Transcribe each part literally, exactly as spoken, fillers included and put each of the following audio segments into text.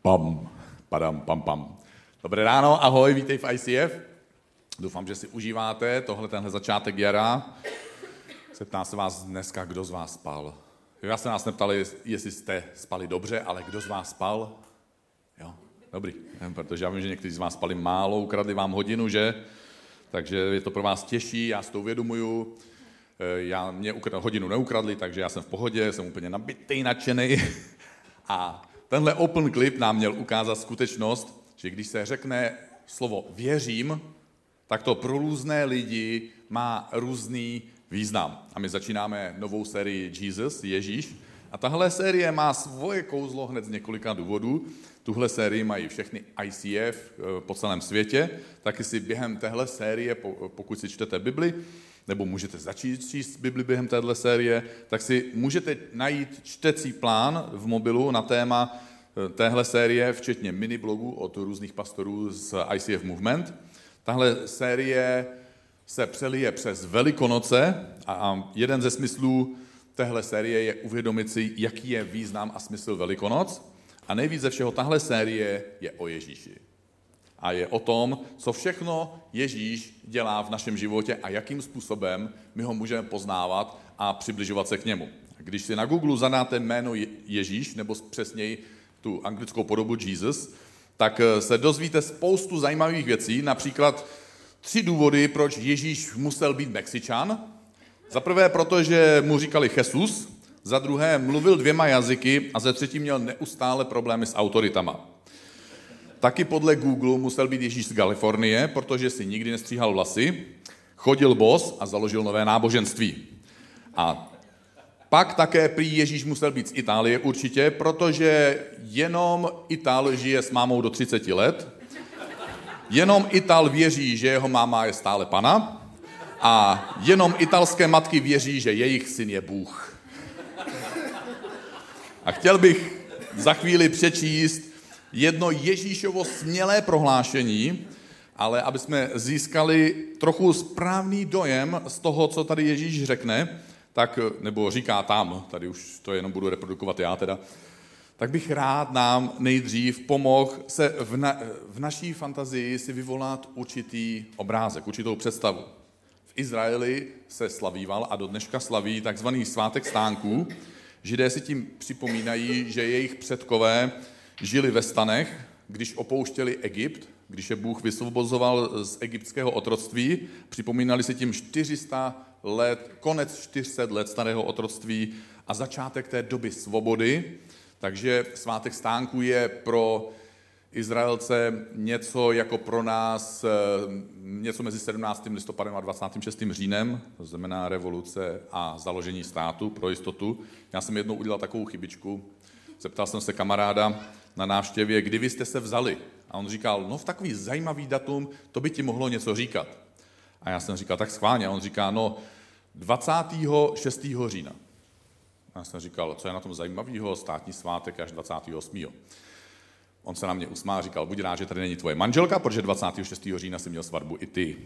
Pam, padam, pam, pam. Dobré ráno, ahoj, vítej v I C F. Doufám, že si užíváte tohle, tenhle začátek jara. Zeptám se vás dneska, kdo z vás spal. Já se nás neptali, jestli jste spali dobře, ale kdo z vás spal? Jo, dobrý, protože já vím, že někteří z vás spali málo, ukradli vám hodinu, že? Takže je to pro vás těžší, já si to uvědomuju. Já, mě hodinu neukradli, takže já jsem v pohodě, jsem úplně nabitý, nadšený. A tenhle open clip nám měl ukázat skutečnost, že když se řekne slovo věřím, tak to pro různé lidi má různý význam. A my začínáme novou sérii Jesus, Ježíš. A tahle série má svoje kouzlo hned z několika důvodů. Tuhle sérii mají všechny I C F po celém světě. Taky si během téhle série, pokud si čtete Bibli, nebo můžete začít číst Bibli během téhle série, tak si můžete najít čtecí plán v mobilu na téma téhle série, včetně miniblogu od různých pastorů z I C F Movement. Tahle série se přelije přes Velikonoce a jeden ze smyslů téhle série je uvědomit si, jaký je význam a smysl Velikonoc. A nejvíc ze všeho tahle série je o Ježíši. A je o tom, co všechno Ježíš dělá v našem životě a jakým způsobem my ho můžeme poznávat a přibližovat se k němu. Když si na Google zadáte jméno Ježíš, nebo přesněji tu anglickou podobu Jesus, tak se dozvíte spoustu zajímavých věcí, například tři důvody, proč Ježíš musel být Mexičan. Za prvé, protože mu říkali Jesus, za druhé mluvil dvěma jazyky a za třetí měl neustále problémy s autoritama. Taky podle Google musel být Ježíš z Kalifornie, protože si nikdy nestříhal vlasy, chodil bos a založil nové náboženství. A pak také prý Ježíš musel být z Itálie určitě, protože jenom Ital žije s mámou do třiceti let, jenom Ital věří, že jeho máma je stále pana a jenom italské matky věří, že jejich syn je Bůh. A chtěl bych za chvíli přečíst jedno Ježíšovo smělé prohlášení, ale aby jsme získali trochu správný dojem z toho, co tady Ježíš řekne, tak, nebo říká tam, tady už to jenom budu reprodukovat já teda, tak bych rád nám nejdřív pomohl se v, na, v naší fantazii si vyvolat určitý obrázek, určitou představu. V Izraeli se slavíval a do dneška slaví takzvaný svátek stánků. Židé si tím připomínají, že jejich předkové žili ve stanech, když opouštěli Egypt, když je Bůh vysvobozoval z egyptského otroctví, připomínali si tím čtyři sta let, konec čtyř set let starého otroctví a začátek té doby svobody. Takže svátek stánků je pro Izraelce něco jako pro nás, něco mezi sedmnáctým listopadem a dvacátým šestým říjnem, to znamená revoluce a založení státu pro jistotu. Já jsem jednou udělal takovou chybičku, zeptal jsem se kamaráda na návštěvě, kdy vy jste se vzali. A on říkal, no v takový zajímavý datum, to by ti mohlo něco říkat. A já jsem říkal, tak schválně. A on říká, no dvacátého šestého října. A já jsem říkal, co je na tom zajímavého, státní svátek až dvacátého osmého On se na mě usmál a říkal, buď rád, že tady není tvoje manželka, protože dvacátého šestého října si měl svatbu i ty.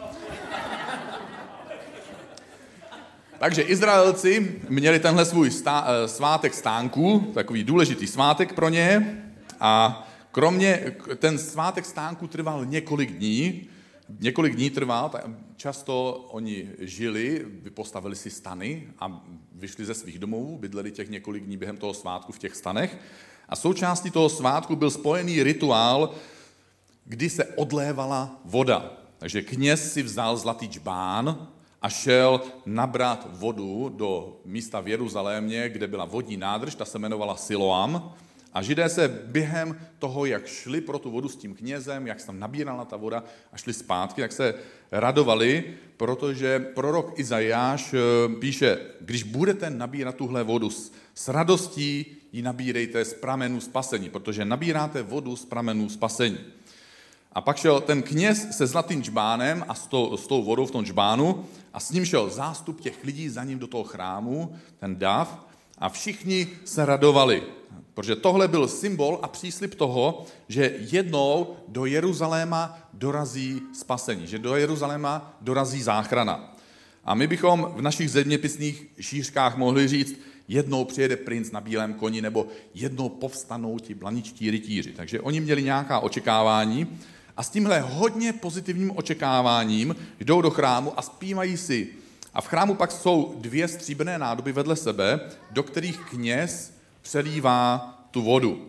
Takže Izraelci měli tenhle svůj stá, svátek stánků, takový důležitý svátek pro ně a kromě, ten svátek stánků trval několik dní, několik dní trval, tak často oni žili, postavili si stany a vyšli ze svých domovů, bydleli těch několik dní během toho svátku v těch stanech a součástí toho svátku byl spojený rituál, kdy se odlévala voda. Takže kněz si vzal zlatý džbán a šel nabrat vodu do místa v Jeruzalémě, kde byla vodní nádrž, ta se jmenovala Siloam. A Židé se během toho, jak šli pro tu vodu s tím knězem, jak se tam nabírala ta voda a šli zpátky, tak se radovali, protože prorok Izajáš píše, když budete nabírat tuhle vodu s radostí, ji nabírejte z pramenů spasení, protože nabíráte vodu z pramenů spasení. A pak šel ten kněz se zlatým džbánem a s tou, s tou vodou v tom džbánu a s ním šel zástup těch lidí za ním do toho chrámu, ten dáv, a všichni se radovali. Protože tohle byl symbol a příslib toho, že jednou do Jeruzaléma dorazí spasení, že do Jeruzaléma dorazí záchrana. A my bychom v našich zeměpisných šířkách mohli říct, jednou přijede princ na bílém koni, nebo jednou povstanou ti blaničtí rytíři. Takže oni měli nějaká očekávání a s tímhle hodně pozitivním očekáváním jdou do chrámu a zpívají si. A v chrámu pak jsou dvě stříbrné nádoby vedle sebe, do kterých kněz přelívá tu vodu.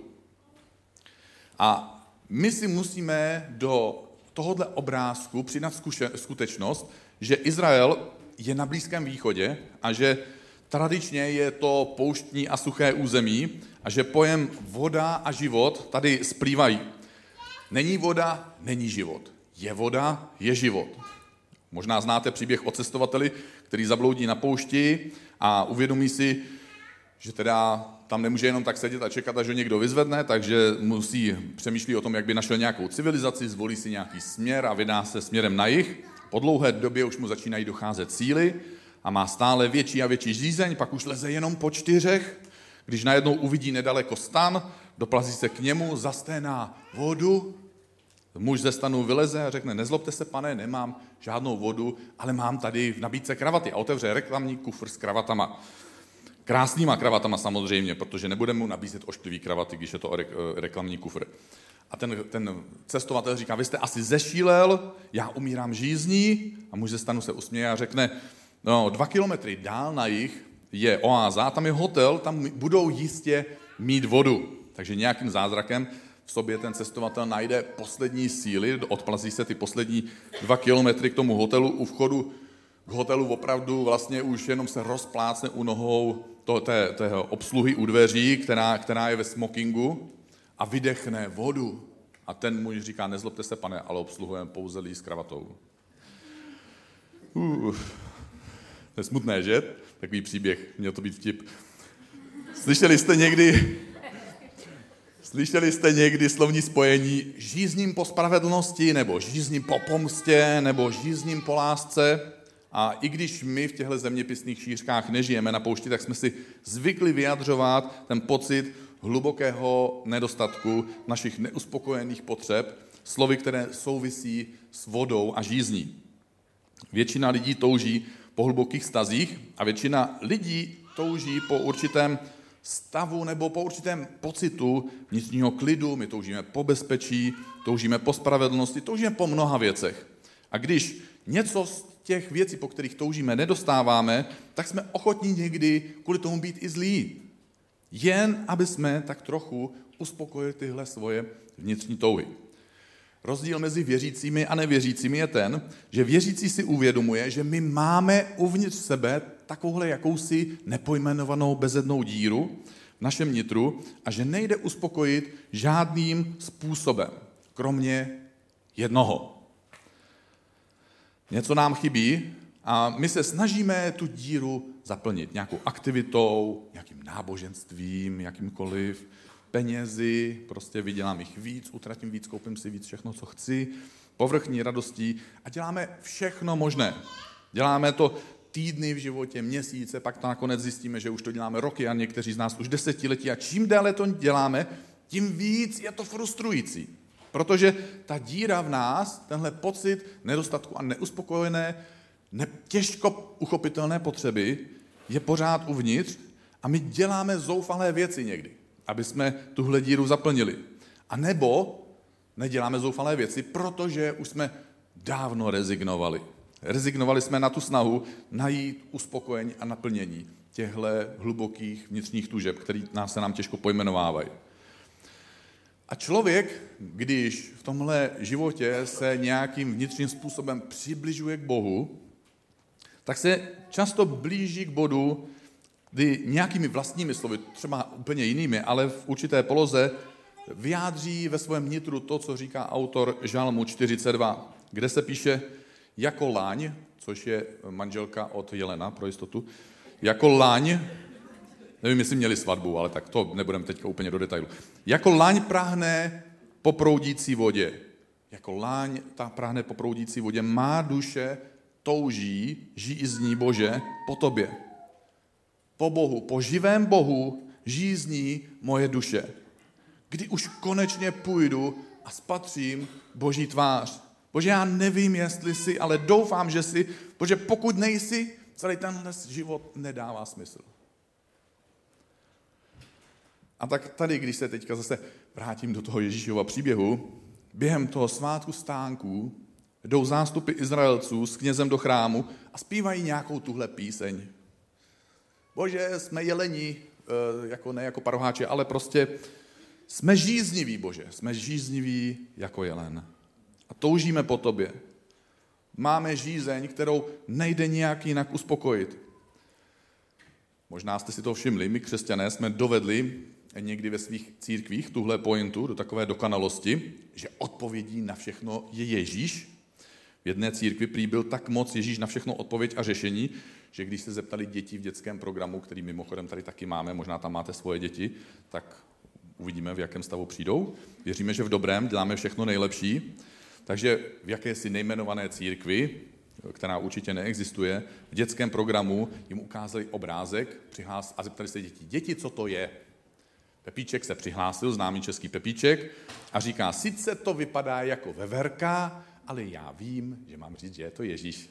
A my si musíme do tohohle obrázku přidat skutečnost, že Izrael je na Blízkém východě a že tradičně je to pouštní a suché území a že pojem voda a život tady splývají. Není voda, není život. Je voda, je život. Možná znáte příběh o cestovateli, který zabloudí na poušti a uvědomí si, že teda tam nemůže jenom tak sedět a čekat, až ho někdo vyzvedne, takže musí přemýšlí o tom, jak by našel nějakou civilizaci, zvolí si nějaký směr a vydá se směrem na jih. Po dlouhé době už mu začínají docházet síly a má stále větší a větší žízeň, pak už leze jenom po čtyřech. Když najednou uvidí nedaleko stan, doplazí se k němu, zasténá vodu. Muž ze stanu vyleze a řekne, nezlobte se, pane, nemám žádnou vodu, ale mám tady v nabídce kravaty. A otevře reklamní kufr s kravatama. Krásnýma kravatama samozřejmě, protože nebudeme mu nabízet ošklivý kravaty, když je to reklamní kufr. A ten, ten cestovatel říká, vy jste asi zešílel, já umírám žízní. A muž ze stanu se usměje a řekne, no, dva kilometry dál na jih je oáza, tam je hotel, tam budou jistě mít vodu. Takže nějakým zázrakem v sobě ten cestovatel najde poslední síly, odplazí se ty poslední dva kilometry k tomu hotelu. U vchodu k hotelu opravdu vlastně už jenom se rozplácne u nohou to, té, té obsluhy u dveří, která, která je ve smokingu a vydechne vodu. A ten muž říká, nezlobte se, pane, ale obsluhujeme pouze lí s kravatou. Uh, to je smutné, že? Takový příběh, měl to být vtip. Slyšeli jste někdy... Slyšeli jste někdy slovní spojení žízním po spravedlnosti, nebo žízním po pomstě, nebo žízním po lásce? A i když my v těchto zeměpisných šířkách nežijeme na poušti, tak jsme si zvykli vyjadřovat ten pocit hlubokého nedostatku našich neuspokojených potřeb, slovy, které souvisí s vodou a žízní. Většina lidí touží po hlubokých stazích a většina lidí touží po určitém stavu nebo po určitém pocitu vnitřního klidu, my toužíme po bezpečí, toužíme po spravedlnosti, toužíme po mnoha věcech. A když něco z těch věcí, po kterých toužíme, nedostáváme, tak jsme ochotní někdy kvůli tomu být i zlí. Jen aby jsme tak trochu uspokojili tyhle svoje vnitřní touhy. Rozdíl mezi věřícími a nevěřícími je ten, že věřící si uvědomuje, že my máme uvnitř sebe takovouhle jakousi nepojmenovanou bezednou díru v našem nitru a že nejde uspokojit žádným způsobem, kromě jednoho. Něco nám chybí a my se snažíme tu díru zaplnit nějakou aktivitou, nějakým náboženstvím, jakýmkoliv, penězi, prostě vydělám jich víc, utratím víc, koupím si víc, všechno, co chci, povrchní radostí a děláme všechno možné. Děláme to týdny v životě, měsíce, pak to nakonec zjistíme, že už to děláme roky a někteří z nás už desetiletí a čím déle to děláme, tím víc je to frustrující. Protože ta díra v nás, tenhle pocit nedostatku a neuspokojené, ne, těžko uchopitelné potřeby je pořád uvnitř a my děláme zoufalé věci někdy, aby jsme tuhle díru zaplnili. A nebo neděláme zoufalé věci, protože už jsme dávno rezignovali. Rezignovali jsme na tu snahu najít uspokojení a naplnění těchto hlubokých vnitřních tužeb, které nás se nám těžko pojmenovávají. A člověk, když v tomhle životě se nějakým vnitřním způsobem přibližuje k Bohu, tak se často blíží k bodu, kdy nějakými vlastními slovy, třeba úplně jinými, ale v určité poloze, vyjádří ve svém nitru to, co říká autor Žalmu čtyřicet dva, kde se píše jako laň, což je manželka od Jelena, pro jistotu, jako laň, nevím, jestli měli svatbu, ale tak to nebudeme teďka úplně do detailu. Jako laň prahne po proudící vodě. Jako laň ta prahne po proudící vodě. Má duše touží, žízní Bože po tobě. Po Bohu, po živém Bohu žízní moje duše. Kdy už konečně půjdu a spatřím Boží tvář. Bože, já nevím, jestli jsi, ale doufám, že jsi. Bože, pokud nejsi, celý tenhle život nedává smysl. A tak tady, když se teďka zase vrátím do toho Ježíšova příběhu, během toho svátku stánků jdou zástupy Izraelců s knězem do chrámu a zpívají nějakou tuhle píseň. Bože, jsme jeleni, jako ne jako paroháči, ale prostě jsme žízniví, Bože, jsme žízniví jako jelen. A toužíme po tobě. Máme žízeň, kterou nejde nějak jinak uspokojit. Možná jste si to všimli, my křesťané jsme dovedli někdy ve svých církvích tuhle pointu do takové dokonalosti, že odpovědí na všechno je Ježíš. V jedné církvi prý byl tak moc Ježíš na všechno odpověď a řešení, že když se zeptali děti v dětském programu, který mimochodem tady taky máme, možná tam máte svoje děti, tak uvidíme, v jakém stavu přijdou. Věříme, že v dobrém děláme všechno nejlepší. Takže v jakési nejmenované církvi, která určitě neexistuje, v dětském programu jim ukázali obrázek přihlás, a zeptali se děti, děti, co to je? Pepíček se přihlásil, známý český Pepíček, a říká, sice to vypadá jako veverka, ale já vím, že mám říct, že je to Ježíš.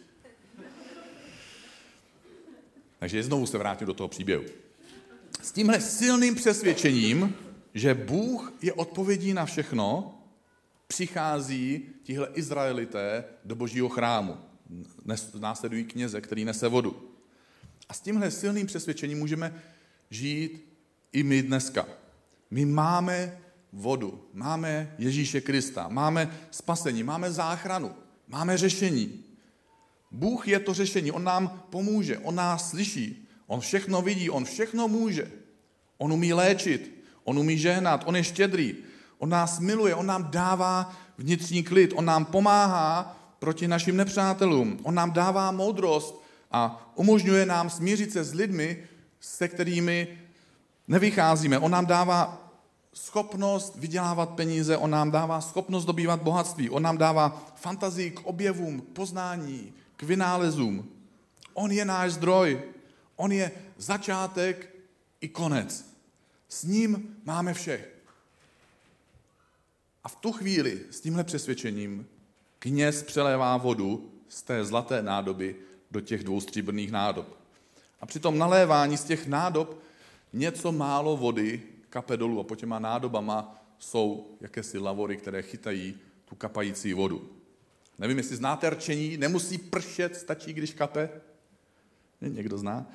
Takže znovu se vrátím do toho příběhu. S tímhle silným přesvědčením, že Bůh je odpovědí na všechno, přichází tihle Izraelité do Božího chrámu. Následují kněze, který nese vodu. A s tímhle silným přesvědčením můžeme žít i my dneska. My máme vodu, máme Ježíše Krista, máme spasení, máme záchranu, máme řešení. Bůh je to řešení, on nám pomůže, on nás slyší, on všechno vidí, on všechno může. On umí léčit, on umí žehnat, on je štědrý, on nás miluje, on nám dává vnitřní klid, on nám pomáhá proti našim nepřátelům, on nám dává moudrost a umožňuje nám smířit se s lidmi, se kterými nevycházíme. On nám dává schopnost vydělávat peníze, on nám dává schopnost dobývat bohatství, on nám dává fantazii k objevům, k poznání, k vynálezům. On je náš zdroj, on je začátek i konec. S ním máme vše. A v tu chvíli s tímhle přesvědčením kněz přelévá vodu z té zlaté nádoby do těch dvou stříbrných nádob. A při tom nalévání z těch nádob něco málo vody kape dolů a po těma nádobama jsou jakési lavory, které chytají tu kapající vodu. Nevím, jestli znáte rčení, nemusí pršet, stačí, když kape. Někdo zná?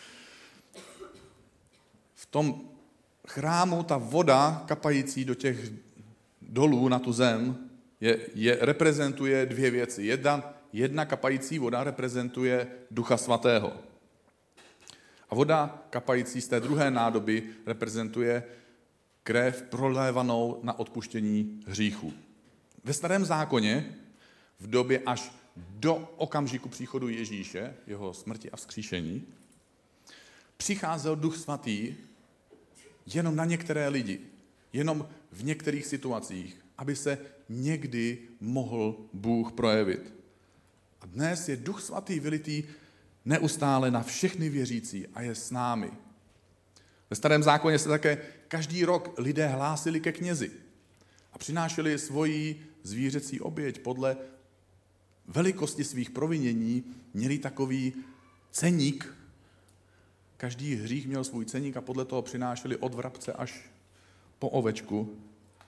V tom chrámu ta voda kapající do těch dolů na tu zem je, je, reprezentuje dvě věci. Jedna, jedna kapající voda reprezentuje Ducha Svatého. A voda kapající z té druhé nádoby reprezentuje krev prolévanou na odpuštění hříchů. Ve Starém zákoně v době až do okamžiku příchodu Ježíše, jeho smrti a vzkříšení, přicházel Duch Svatý jenom na některé lidi, jenom v některých situacích, aby se někdy mohl Bůh projevit. A dnes je Duch Svatý vylitý neustále na všechny věřící a je s námi. Ve Starém zákoně se také každý rok lidé hlásili ke knězi a přinášeli svoji zvířecí oběť podle velikosti svých provinění, měli takový ceník. Každý hřích měl svůj ceník a podle toho přinášeli od vrabce až po ovečku.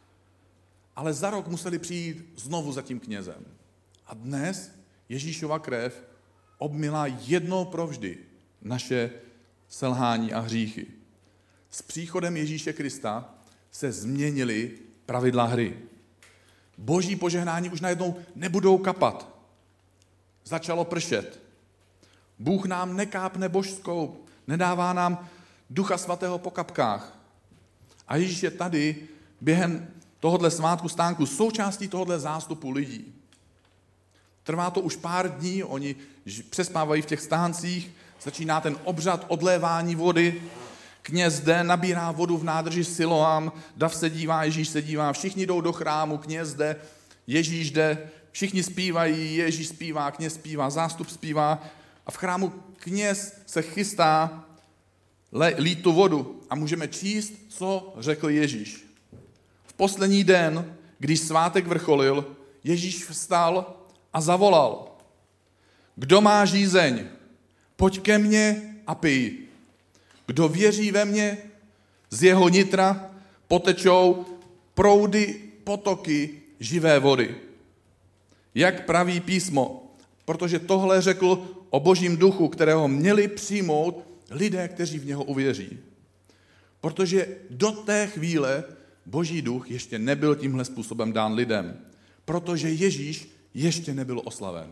Ale za rok museli přijít znovu za tím knězem. A dnes Ježíšova krev obmila jednou provždy naše selhání a hříchy. S příchodem Ježíše Krista se změnily pravidla hry. Boží požehnání už najednou nebudou kapat. Začalo pršet. Bůh nám nekápne božskou, nedává nám Ducha Svatého po kapkách. A Ježíš je tady během tohohle svátku stánku součástí tohohle zástupu lidí. Trvá to už pár dní, oni přespávají v těch stáncích, začíná ten obřad odlévání vody, kněz jde, nabírá vodu v nádrži Siloam, dav se dívá, Ježíš se dívá, všichni jdou do chrámu, kněz jde, Ježíš jde, všichni zpívají, Ježíš zpívá, kněz zpívá, zástup zpívá a v chrámu kněz se chystá lít tu vodu a můžeme číst, co řekl Ježíš. V poslední den, když svátek vrcholil, Ježíš vstal a zavolal. Kdo má žízeň, pojď ke mně a pij. Kdo věří ve mě, Z jeho nitra potečou proudy, potoky živé vody. Jak praví písmo, protože tohle řekl o Božím duchu, kterého měli přijmout lidé, kteří v něho uvěří. Protože do té chvíle Boží duch ještě nebyl tímhle způsobem dán lidem, protože Ježíš ještě nebyl oslaven.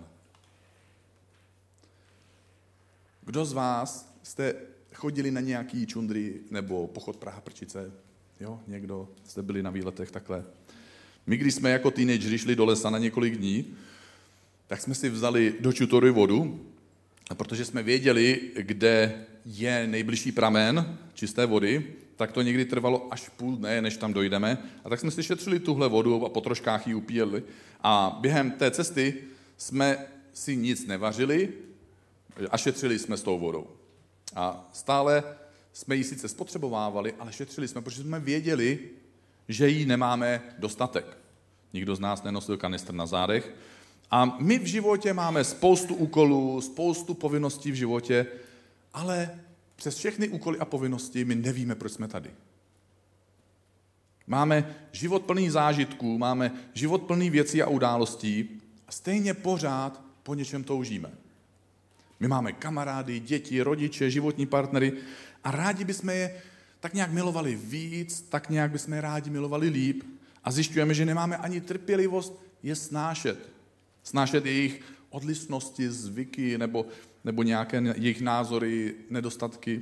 Kdo z vás jste chodili na nějaký čundry nebo pochod Praha-Prčice? Jo, někdo jste byli na výletech takhle. My, když jsme jako teenageři šli do lesa na několik dní, tak jsme si vzali do čutory vodu, a protože jsme věděli, kde je nejbližší pramen čisté vody, tak to někdy trvalo až půl dne, než tam dojdeme. A tak jsme si šetřili tuhle vodu a po troškách ji upíjeli. A během té cesty jsme si nic nevařili a šetřili jsme s tou vodou. A stále jsme ji sice spotřebovávali, ale šetřili jsme, protože jsme věděli, že jí nemáme dostatek. Nikdo z nás nenosil kanistr na zádech. A my v životě máme spoustu úkolů, spoustu povinností v životě, ale přes všechny úkoly a povinnosti my nevíme, proč jsme tady. Máme život plný zážitků, máme život plný věcí a událostí a stejně pořád po něčem toužíme. My máme kamarády, děti, rodiče, životní partnery a rádi bychom je tak nějak milovali víc, tak nějak bychom je rádi milovali líp a zjišťujeme, že nemáme ani trpělivost je snášet. Snášet jejich odlišnosti, zvyky nebo, nebo nějaké jejich názory, nedostatky.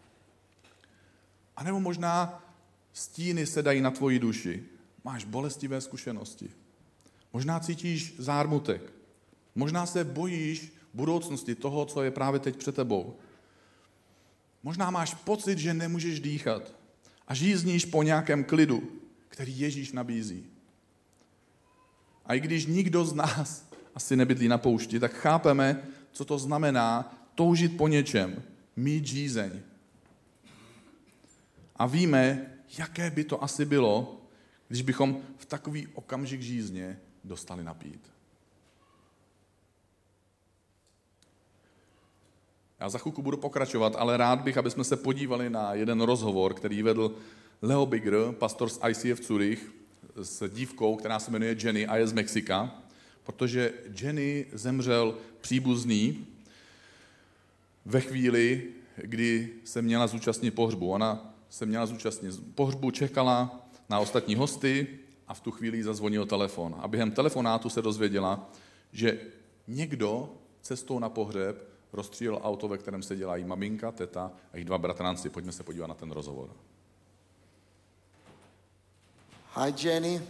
A nebo možná stíny se dají na tvoji duši. Máš bolestivé zkušenosti. Možná cítíš zármutek. Možná se bojíš budoucnosti toho, co je právě teď před tebou. Možná máš pocit, že nemůžeš dýchat a žízníš po nějakém klidu, který Ježíš nabízí. A i když nikdo z nás asi nebydlí na poušti, tak chápeme, co to znamená toužit po něčem, mít žízeň. A víme, jaké by to asi bylo, když bychom v takový okamžik žízně dostali napít. Já za chvilku budu pokračovat, ale rád bych, aby jsme se podívali na jeden rozhovor, který vedl Leo Bigger, pastor z I C F Zurich, s dívkou, která se jmenuje Jenny a je z Mexika, protože Jenny zemřel příbuzný ve chvíli, kdy se měla zúčastnit pohřbu. Ona se měla zúčastnit pohřbu, čekala na ostatní hosty a v tu chvíli zazvonil telefon. A během telefonátu se dozvěděla, že někdo cestou na pohřeb rozstřílel auto, ve kterém seděla její maminka, teta a její dva bratranci. Pojďme se podívat na ten rozhovor. Hi, Jenny.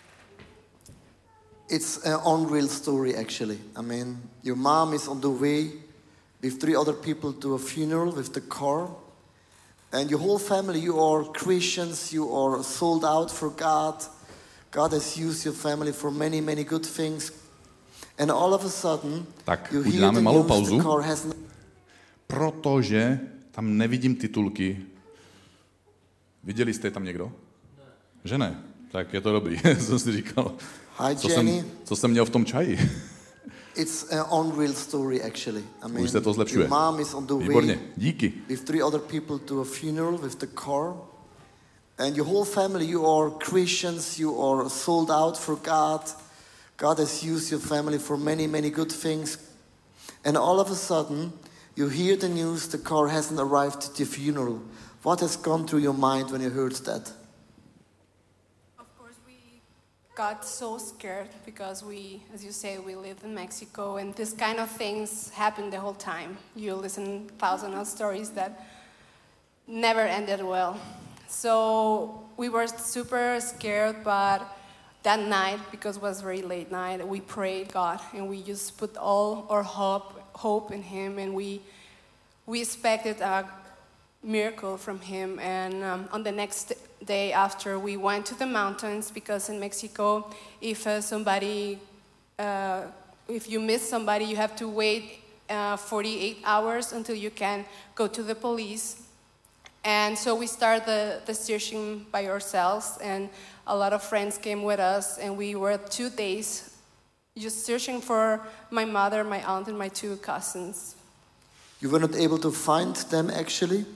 It's an unreal story, actually. I mean, your mom is on the way with three other people to a funeral with the car. And your whole family, you are Christians, you are sold out for God. God has used your family for many, many good things. And all of a sudden, tak you uděláme hear the malou news, pauzu, the car has... protože tam nevidím titulky. Viděli jste tam někdo? Ne. Že ne? Tak je to dobrý, jsem si říkal. Hi, co, Jenny. jsem, co jsem měl v tom čaji? It's an unreal story, actually. I mean, už se to zlepšuje. your mom is on the Výborně, way díky. with three other people to a funeral with the car. And your whole family, you are Christians, you are sold out for God. God has used your family for many, many good things. And all of a sudden, you hear the news the car hasn't arrived at the funeral. What has gone through your mind when you heard that? Of course, we got so scared because we, as you say, we live in Mexico and this kind of things happen the whole time. You listen thousands of stories that never ended well. So we were super scared, but that night, because it was very late night, we prayed God and we just put all our hope hope in Him, and we we expected a miracle from Him. And um, on the next day after, we went to the mountains, because in Mexico, if uh, somebody, uh, if you miss somebody, you have to wait uh, forty-eight hours until you can go to the police. And so we started the, the searching by ourselves, and a lot of friends came with us, and we were two days just searching for my mother, my aunt, and my two cousins. You were not able to find them, actually.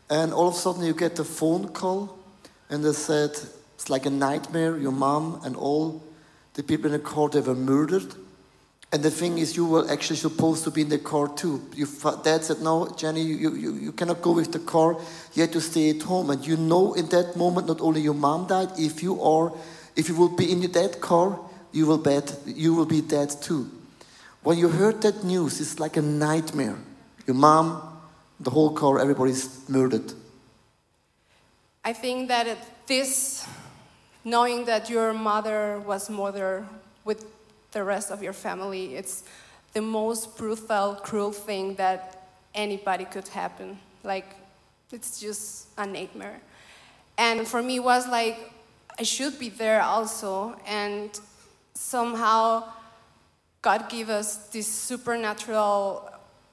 And all of a sudden you get a phone call, and they said, it's like a nightmare, your mom and all the people in the car, they were murdered. And the thing is, you were actually supposed to be in the car too. Your dad said, no, Jenny, you, you, you cannot go with the car, you have to stay at home. And you know in that moment, not only your mom died, if you are, if you will be in that car, you will, bet, you will be dead too. When you heard that news, it's like a nightmare. Your mom, the whole car, everybody's murdered. I think that it, this, knowing that your mother was murdered with the rest of your family, it's the most brutal, cruel thing that anybody could happen. Like, it's just a nightmare. And for me, it was like, I should be there also. And somehow, God gave us this supernatural,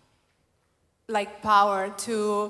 like, power to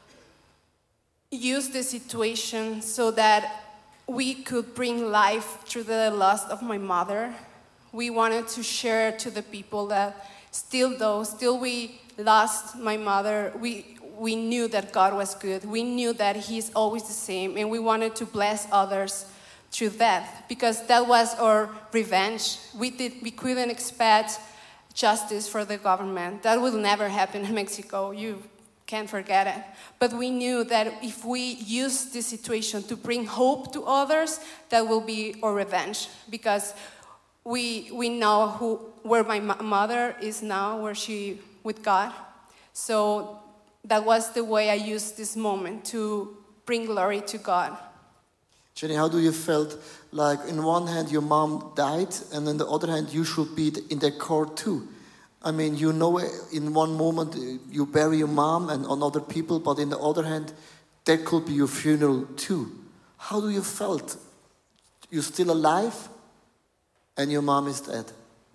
use the situation so that we could bring life through the loss of my mother. We wanted to share to the people that still though, still we lost my mother, we, we knew that God was good. We knew that He's always the same, and we wanted to bless others through that, because that was our revenge. We, did, we couldn't expect justice for the government. That will never happen in Mexico. You can't forget it. But we knew that if we use this situation to bring hope to others, that will be our revenge, because We we know who where my mother is now, where she with God. So that was the way I used this moment to bring glory to God. Jenny, how do you felt? Like, in one hand your mom died, and on the other hand you should be in the car too. I mean, you know, in one moment you bury your mom and on other people, but in the other hand, that could be your funeral too. How do you felt? You're still alive? And your mom is dead.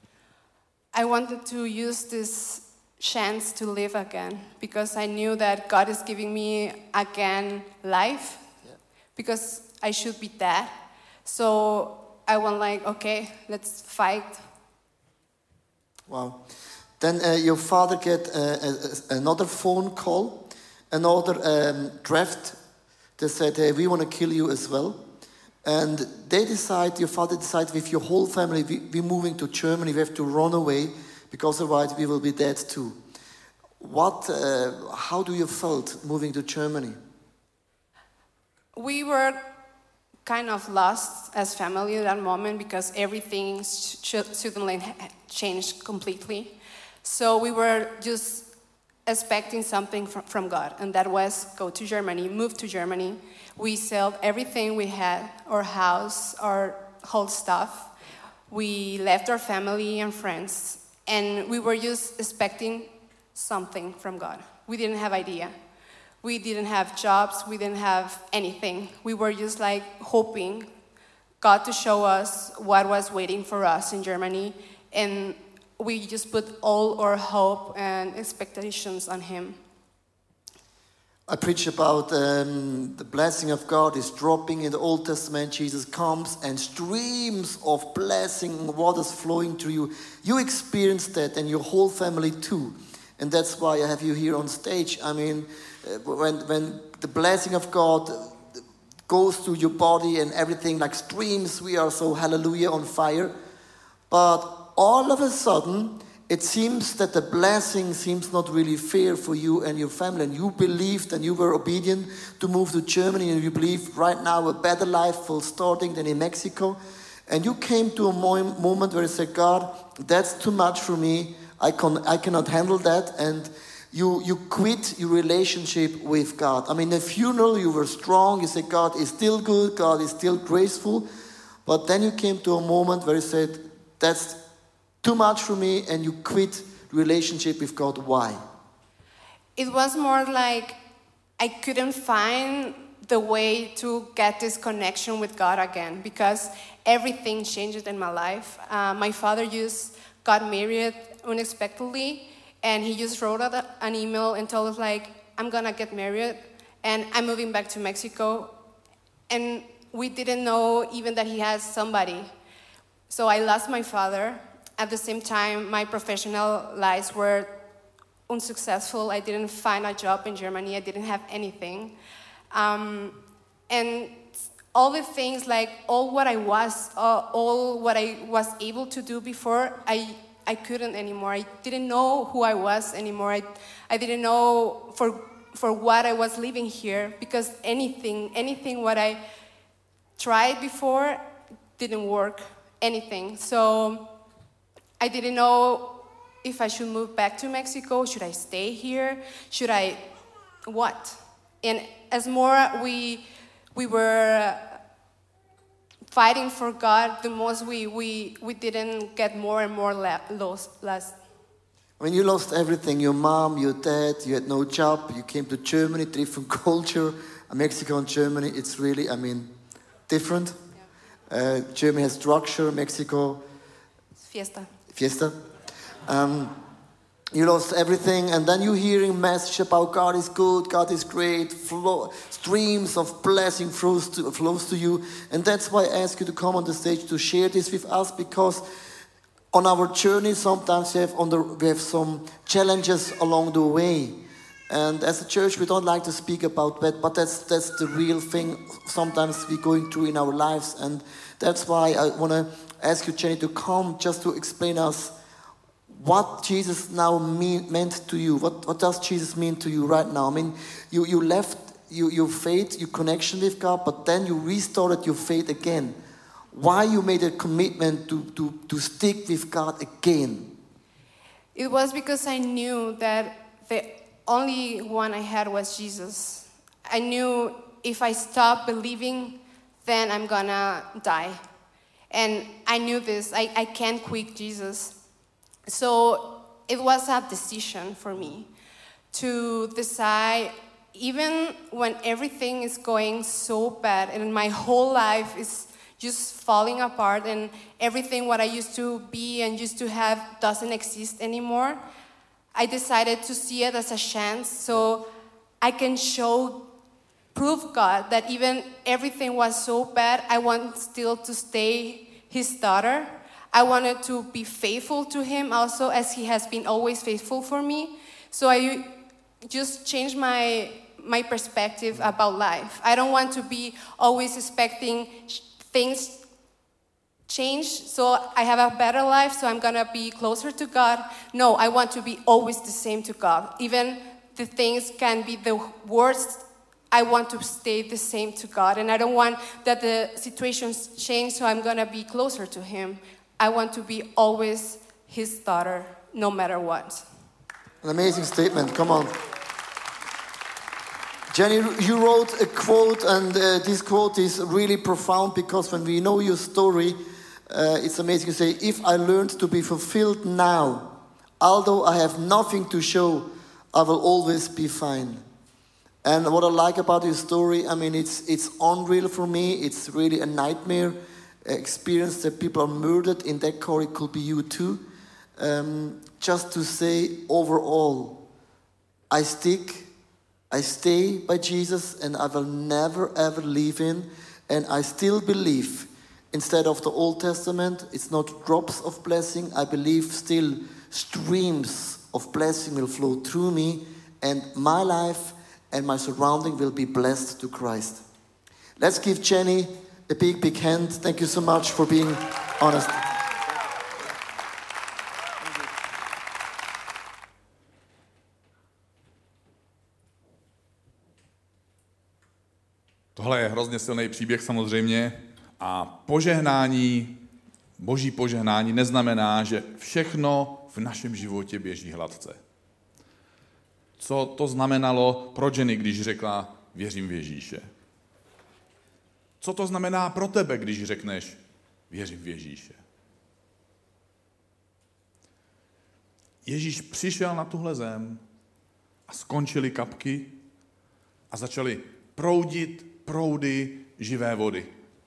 I wanted to use this chance to live again, because I knew that God is giving me again life, yeah. Because I should be dead. So I went like, okay, let's fight. Wow. Then uh, your father get uh, a, another phone call, another um, draft. They said, hey, we want to kill you as well. And they decide, your father decided with your whole family, we, we're moving to Germany, we have to run away, because otherwise we will be dead too. What, uh, how do you felt moving to Germany? We were kind of lost as family at that moment, because everything suddenly changed completely. So we were just expecting something from, from God, and that was go to Germany, move to Germany. We sold everything we had, our house, our whole stuff. We left our family and friends, and we were just expecting something from God. We didn't have idea. We didn't have jobs, we didn't have anything. We were just like hoping God to show us what was waiting for us in Germany, and we just put all our hope and expectations on Him. I preach about um, the blessing of God is dropping in the Old Testament. Jesus comes and streams of blessing, waters flowing through you. You experienced that, and your whole family too. And that's why I have you here on stage. I mean, uh, when, when the blessing of God goes through your body and everything like streams, we are so hallelujah on fire. But all of a sudden, it seems that the blessing seems not really fair for you and your family. And you believed and you were obedient to move to Germany, and you believe right now a better life will starting than in Mexico. And you came to a mo- moment where you said, God, that's too much for me. I, can, I cannot handle that. And you, you quit your relationship with God. I mean, in the funeral, you were strong. You said, God is still good. God is still graceful. But then you came to a moment where you said, that's too much for me, and you quit relationship with God. Why? It was more like I couldn't find the way to get this connection with God again, because everything changed in my life. Uh, my father just got married unexpectedly, and he just wrote out an email and told us like, I'm gonna get married and I'm moving back to Mexico. And we didn't know even that he has somebody. So I lost my father. At the same time, my professional lives were unsuccessful. I didn't find a job in Germany. I didn't have anything. Um, and all the things, like all what I was, uh, all what I was able to do before, I I couldn't anymore. I didn't know who I was anymore. I, I didn't know for for what I was living here, because anything, anything what I tried before didn't work, anything. So I didn't know if I should move back to Mexico. Should I stay here? Should I, what? And as more we we were fighting for God, the most we we, we didn't get more and more la- lost. lost. When you lost everything, your mom, your dad, you had no job, you came to Germany, different culture, Mexico and Germany, it's really, I mean, different. Yeah. Uh, Germany has structure, Mexico... Fiesta. Fiesta. Um, you lost everything, and then you're hearing message about God is good, God is great, flow, streams of blessing flows to, flows to you, and that's why I ask you to come on the stage to share this with us, because on our journey, sometimes we have, on the, we have some challenges along the way. And as a church, we don't like to speak about that, but that's that's the real thing sometimes we're going through in our lives. And that's why I want to ask you, Jenny, to come just to explain us what Jesus now mean, meant to you. What, what does Jesus mean to you right now? I mean, you, you left you, your faith, your connection with God, but then you restarted your faith again. Why you made a commitment to, to, to stick with God again? It was because I knew that the only one I had was Jesus. I knew if I stop believing, then I'm gonna die. And I knew this. I, I can't quit Jesus. So it was a decision for me to decide, even when everything is going so bad and my whole life is just falling apart and everything what I used to be and used to have doesn't exist anymore, I decided to see it as a chance so I can show, prove God that even everything was so bad, I want still to stay his daughter. I wanted to be faithful to him also, as he has been always faithful for me. So I just changed my my perspective about life. I don't want to be always expecting things change, so I have a better life, so I'm gonna be closer to God. No, I want to be always the same to God. Even the things can be the worst, I want to stay the same to God. And I don't want that the situations change, so I'm gonna be closer to him. I want to be always his daughter, no matter what. An amazing statement, come on. Jenny, you wrote a quote, and uh, this quote is really profound, because when we know your story, uh, it's amazing. You say, if I learned to be fulfilled now, although I have nothing to show, I will always be fine. And what I like about your story, I mean, it's it's unreal for me. It's really a nightmare experience that people are murdered. In that car, it could be you too. Um, just to say, overall, I stick I stay by Jesus, and I will never ever leave him. And I still believe, instead of the Old Testament, it's not drops of blessing. I believe still streams of blessing will flow through me, and my life and my surrounding will be blessed to Christ. Let's give Jenny a big, big hand. Thank you so much for being honest. Tohle je hrozně silný příběh samozřejmě a požehnání, boží požehnání neznamená, že všechno v našem životě běží hladce. Co to znamenalo pro Jenny, když řekla věřím v Ježíše? Co to znamená pro tebe, když řekneš věřím v Ježíše? Ježíš přišel na tuhle zem a skončily kapky a začaly proudit proudy živé vody.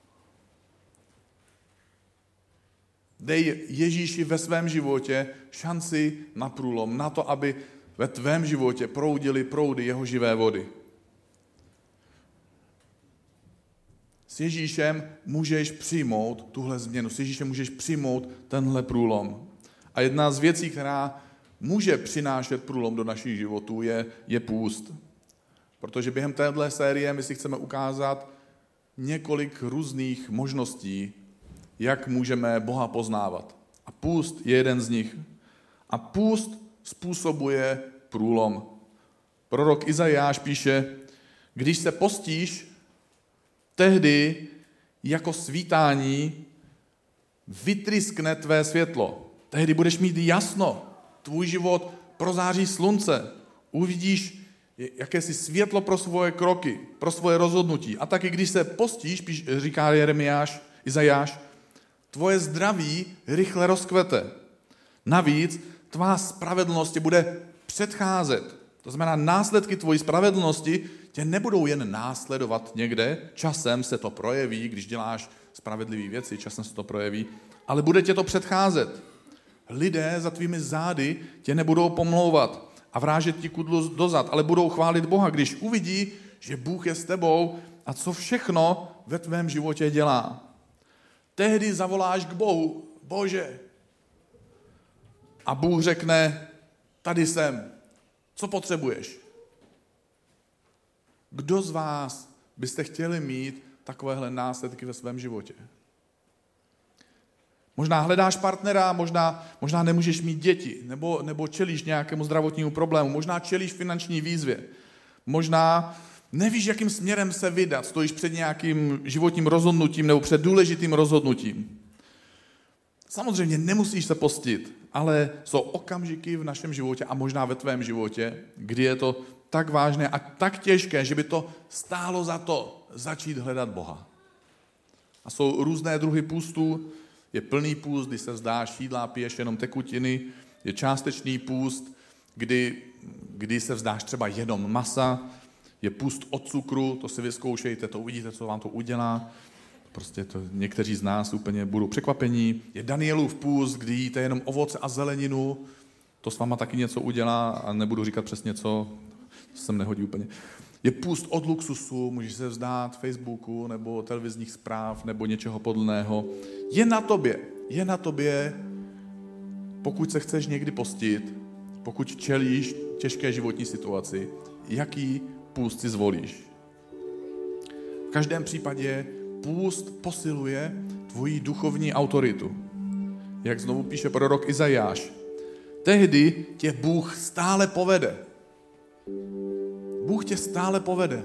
Dej Ježíši ve svém životě šanci na průlom, na to, aby ve tvém životě proudily proudy jeho živé vody. S Ježíšem můžeš přijmout tuhle změnu, s Ježíšem můžeš přijmout tenhle průlom. A jedna z věcí, která může přinášet průlom do našich životů, je, je půst. Protože během téhle série my si chceme ukázat několik různých možností, jak můžeme Boha poznávat. A půst je jeden z nich. A půst způsobuje průlom. Prorok Izajáš píše, když se postíš, tehdy jako svítání vytryskne tvé světlo. Tehdy budeš mít jasno. Tvůj život prozáří slunce. Uvidíš jakési světlo pro svoje kroky, pro svoje rozhodnutí. A taky když se postíš, píš, říká Jeremiáš, Izajáš, tvoje zdraví rychle rozkvete. Navíc tvá spravedlnost tě bude předcházet. To znamená, následky tvojí spravedlnosti tě nebudou jen následovat někde, časem se to projeví, když děláš spravedlivé věci, časem se to projeví, ale bude tě to předcházet. Lidé za tvými zády tě nebudou pomlouvat a vrážet ti kudlu dozad, ale budou chválit Boha, když uvidí, že Bůh je s tebou a co všechno ve tvém životě dělá. Tehdy zavoláš k Bohu, Bože, a Bůh řekne, tady jsem, co potřebuješ? Kdo z vás byste chtěli mít takovéhle následky ve svém životě? Možná hledáš partnera, možná, možná nemůžeš mít děti, nebo, nebo čelíš nějakému zdravotnímu problému, možná čelíš finanční výzvě, možná nevíš, jakým směrem se vydat, stojíš před nějakým životním rozhodnutím nebo před důležitým rozhodnutím. Samozřejmě nemusíš se postit, ale jsou okamžiky v našem životě a možná ve tvém životě, kdy je to tak vážné a tak těžké, že by to stálo za to začít hledat Boha. A jsou různé druhy půstů. Je plný půst, kdy se vzdáš jídla a piješ jenom tekutiny. Je částečný půst, kdy, kdy se vzdáš třeba jenom masa. Je půst od cukru, to si vyzkoušejte, to uvidíte, co vám to udělá. Prostě to někteří z nás úplně budou překvapení. Je Danielův půst, kdy jíte jenom ovoce a zeleninu. To s váma taky něco udělá a nebudu říkat přesně co, to se nehodí úplně. Je půst od luxusu, můžeš se vzdát Facebooku nebo televizních zpráv nebo něčeho podobného. Je na tobě, je na tobě, pokud se chceš někdy postit, pokud čelíš těžké životní situaci, jaký půst si zvolíš. V každém případě půst posiluje tvoji duchovní autoritu. Jak znovu píše prorok Izajáš, tehdy tě Bůh stále povede. Bůh tě stále povede.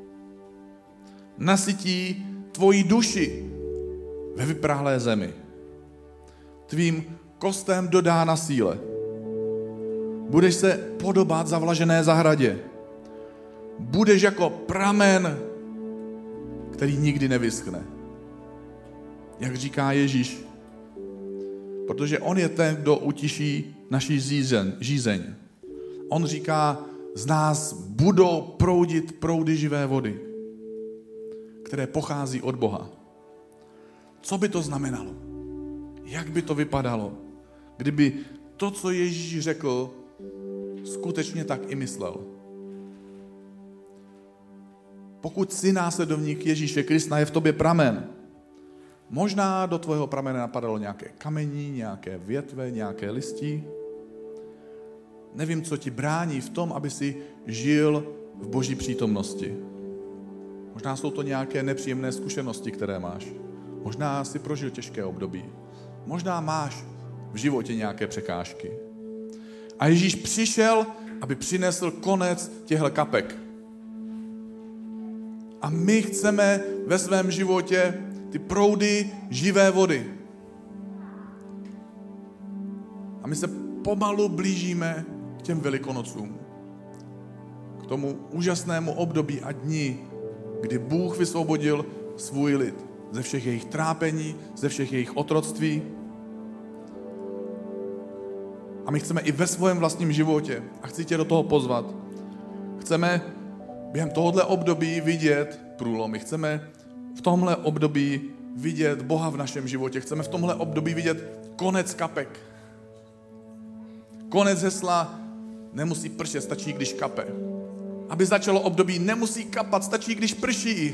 Nasytí tvoji duši ve vyprahlé zemi. Tvým kostem dodá na síle. Budeš se podobat zavlažené zahradě. Budeš jako pramen, který nikdy nevyschne. Jak říká Ježíš. Protože on je ten, kdo utiší naši žízeň. žízeň. On říká, z nás budou proudit proudy živé vody, které pochází od Boha. Co by to znamenalo? Jak by to vypadalo, kdyby to, co Ježíš řekl, skutečně tak i myslel? Pokud jsi následovník Ježíše Krista, je v tobě pramen. Možná do tvého pramene napadalo nějaké kamení, nějaké větve, nějaké listí. Nevím, co ti brání v tom, aby si žil v Boží přítomnosti. Možná jsou to nějaké nepříjemné zkušenosti, které máš. Možná si prožil těžké období. Možná máš v životě nějaké překážky. A Ježíš přišel, aby přinesl konec těchto kapek. A my chceme ve svém životě ty proudy živé vody. A my se pomalu blížíme k těm Velikonocům. K tomu úžasnému období a dni, kdy Bůh vysvobodil svůj lid ze všech jejich trápení, ze všech jejich otroctví. A my chceme i ve svém vlastním životě, a chci tě do toho pozvat, chceme během tohohle období vidět průlomy. Chceme v tomhle období vidět Boha v našem životě. Chceme v tomhle období vidět konec kapek. Konec hesla nemusí pršet, stačí, když kape. Aby začalo období, nemusí kapat, stačí, když prší.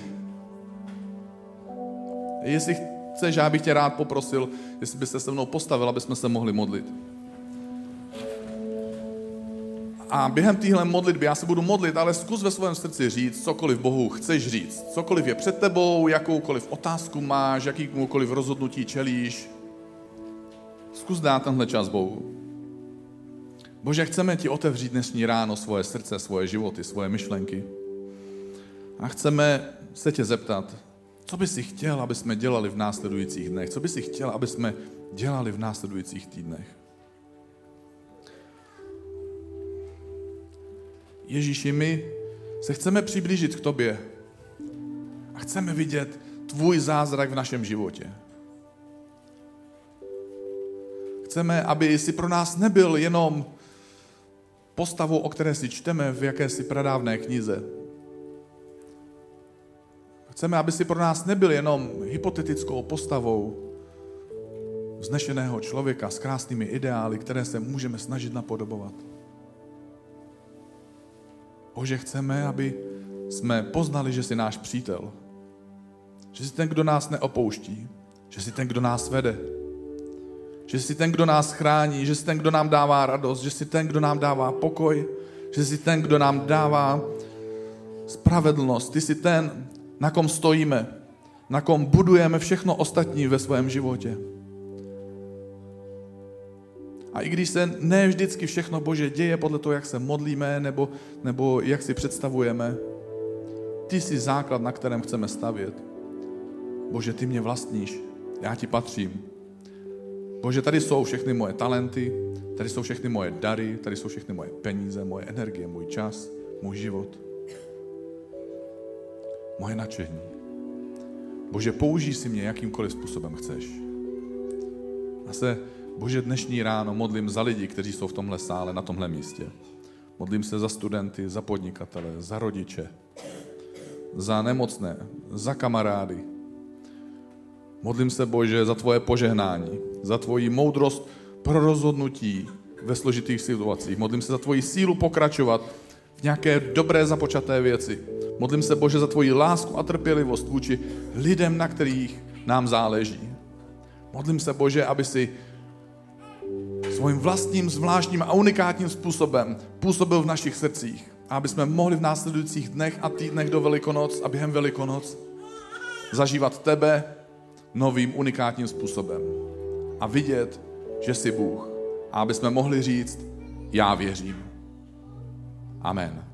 Jestli chceš, já bych tě rád poprosil, jestli byste se mnou postavil, aby jsme se mohli modlit. A během téhle modlitby já se budu modlit, ale zkus ve svém srdci říct, cokoliv Bohu chceš říct. Cokoliv je před tebou, jakoukoliv otázku máš, jakýmukoliv rozhodnutí čelíš. Zkus dát tenhle čas Bohu. Bože, chceme ti otevřít dnešní ráno svoje srdce, svoje životy, svoje myšlenky. A chceme se tě zeptat, co by si chtěl, aby jsme dělali v následujících dnech? Co by si chtěl, aby jsme dělali v následujících týdnech? Ježíši, my se chceme přiblížit k tobě a chceme vidět tvůj zázrak v našem životě. Chceme, aby jsi pro nás nebyl jenom postavou, o které si čteme v jakési pradávné knize. Chceme, aby si pro nás nebyl jenom hypotetickou postavou vznešeného člověka s krásnými ideály, které se můžeme snažit napodobovat. Bože, chceme, aby jsme poznali, že jsi náš přítel. Že jsi ten, kdo nás neopouští. Že jsi ten, kdo nás vede. Že jsi ten, kdo nás chrání. Že jsi ten, kdo nám dává radost. Že jsi ten, kdo nám dává pokoj. Že jsi ten, kdo nám dává spravedlnost. Ty jsi ten, na kom stojíme. Na kom budujeme všechno ostatní ve svém životě. A i když se ne vždycky všechno, Bože, děje podle toho, jak se modlíme, nebo, nebo jak si představujeme, ty jsi základ, na kterém chceme stavět. Bože, ty mě vlastníš, já ti patřím. Bože, tady jsou všechny moje talenty, tady jsou všechny moje dary, tady jsou všechny moje peníze, moje energie, můj čas, můj život. Moje nadšení. Bože, použij si mě jakýmkoliv způsobem chceš. A se Bože, dnešní ráno modlím za lidi, kteří jsou v tomhle sále, na tomhle místě. Modlím se za studenty, za podnikatele, za rodiče, za nemocné, za kamarády. Modlím se, Bože, za tvoje požehnání, za tvoji moudrost pro rozhodnutí ve složitých situacích. Modlím se za tvoji sílu pokračovat v nějaké dobré započaté věci. Modlím se, Bože, za tvoji lásku a trpělivost vůči lidem, na kterých nám záleží. Modlím se, Bože, aby si svým vlastním, zvláštním a unikátním způsobem působil v našich srdcích. A aby jsme mohli v následujících dnech a týdnech do Velikonoc a během Velikonoc zažívat tebe novým unikátním způsobem. A vidět, že jsi Bůh. A aby jsme mohli říct, já věřím. Amen.